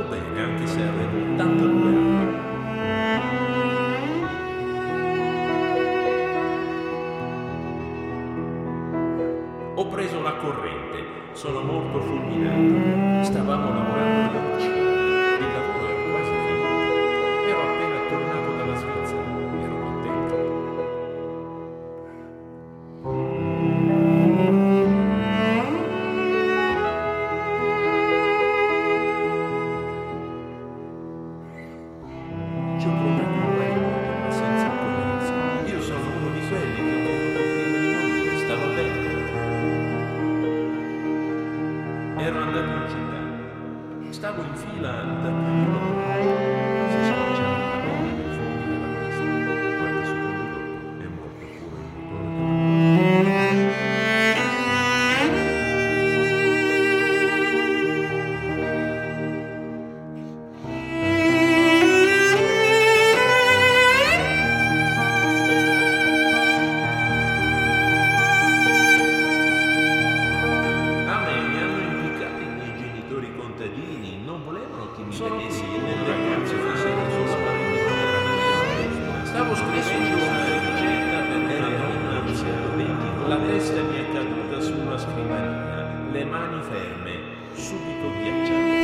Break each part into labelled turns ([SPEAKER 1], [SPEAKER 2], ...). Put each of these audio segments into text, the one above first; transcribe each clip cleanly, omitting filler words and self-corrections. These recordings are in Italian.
[SPEAKER 1] stavo bene anche se avevo 82 anni. Ho preso la corrente, sono molto fulminato. Stavamo lavorando alla cucina, il lavoro era quasi finito. Ero appena tornato dalla Svizzera, ero contento. Ci ho provato un paio di volte, ma senza accorrenza. Io sono uno di quelli che ho voluto prima di morire, stava bene. Ero andato in città, stavo in fila da si schiacciava la donna nel fondo della pista. Qualche secondo dopo è morto pure il motore. A me mi hanno impiccato i miei genitori contadini, non volevano che mi vedessi nel ragazzo fosse il suo spavento. Stavo scrivendo una ricetta per una donna anziana. La testa mi è caduta sulla scrivania, le mani ferme, subito ghiacciate.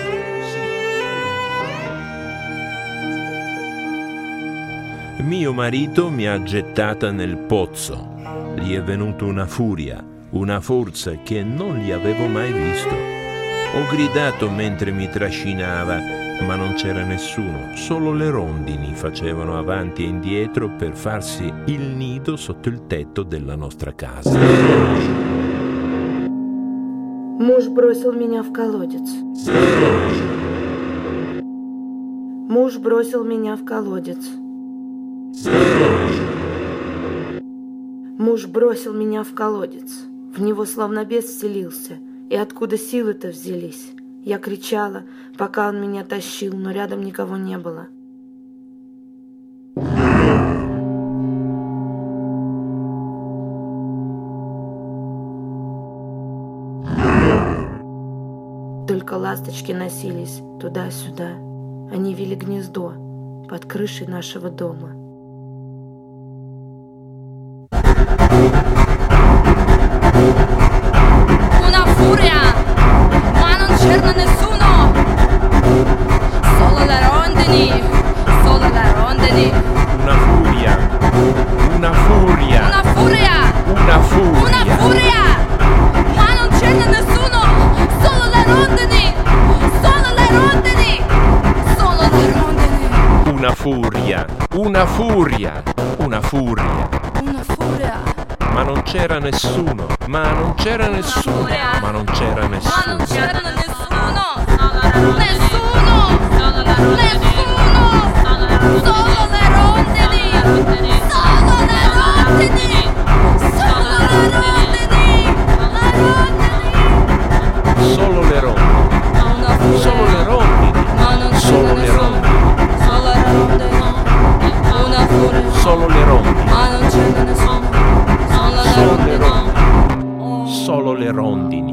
[SPEAKER 1] Sì. Mio marito mi ha gettata nel pozzo. Gli è venuta una furia, una forza che non gli avevo mai visto. Ho gridato mentre mi trascinava, ma non c'era nessuno, solo le rondini facevano avanti e indietro per farsi il nido sotto il tetto della nostra casa.
[SPEAKER 2] Муж бросил меня в колодец. Муж бросил меня в колодец. Муж бросил меня в колодец. В него словно бес вселился. И откуда силы-то взялись? Я кричала, пока он меня тащил, но рядом никого не было. Только ласточки носились туда-сюда. Они вили гнездо под крышей нашего дома.
[SPEAKER 3] Una furia, ma non c'era nessuno. Solo le rondini, solo le rondini.
[SPEAKER 1] Una furia, una furia,
[SPEAKER 3] Una furia,
[SPEAKER 1] una furia.
[SPEAKER 3] una furia, ma non c'era nessuno. Solo le rondini, solo le rondini, solo le rondini.
[SPEAKER 1] Una furia, una furia, una furia.
[SPEAKER 3] Una furia,
[SPEAKER 1] Ma non c'era nessuno, ma non c'era nessuno, ma non c'era
[SPEAKER 3] ma non
[SPEAKER 1] nessuno.
[SPEAKER 3] c'era nessuno. Nessuno, nessuno. Solo le rondini, solo le rondini, solo le rondini, le rondini.
[SPEAKER 1] Solo le rondini,
[SPEAKER 3] Una furia,
[SPEAKER 1] solo le rondini,
[SPEAKER 3] ma non
[SPEAKER 1] solo
[SPEAKER 3] c'era
[SPEAKER 1] le
[SPEAKER 3] nessuno.
[SPEAKER 1] rondini,
[SPEAKER 3] Solo le rondini, una furia,
[SPEAKER 1] solo le rondini,
[SPEAKER 3] ma non c'era nessuno. Solo le
[SPEAKER 1] solo le
[SPEAKER 3] rondini.
[SPEAKER 1] rondini, solo le rondini.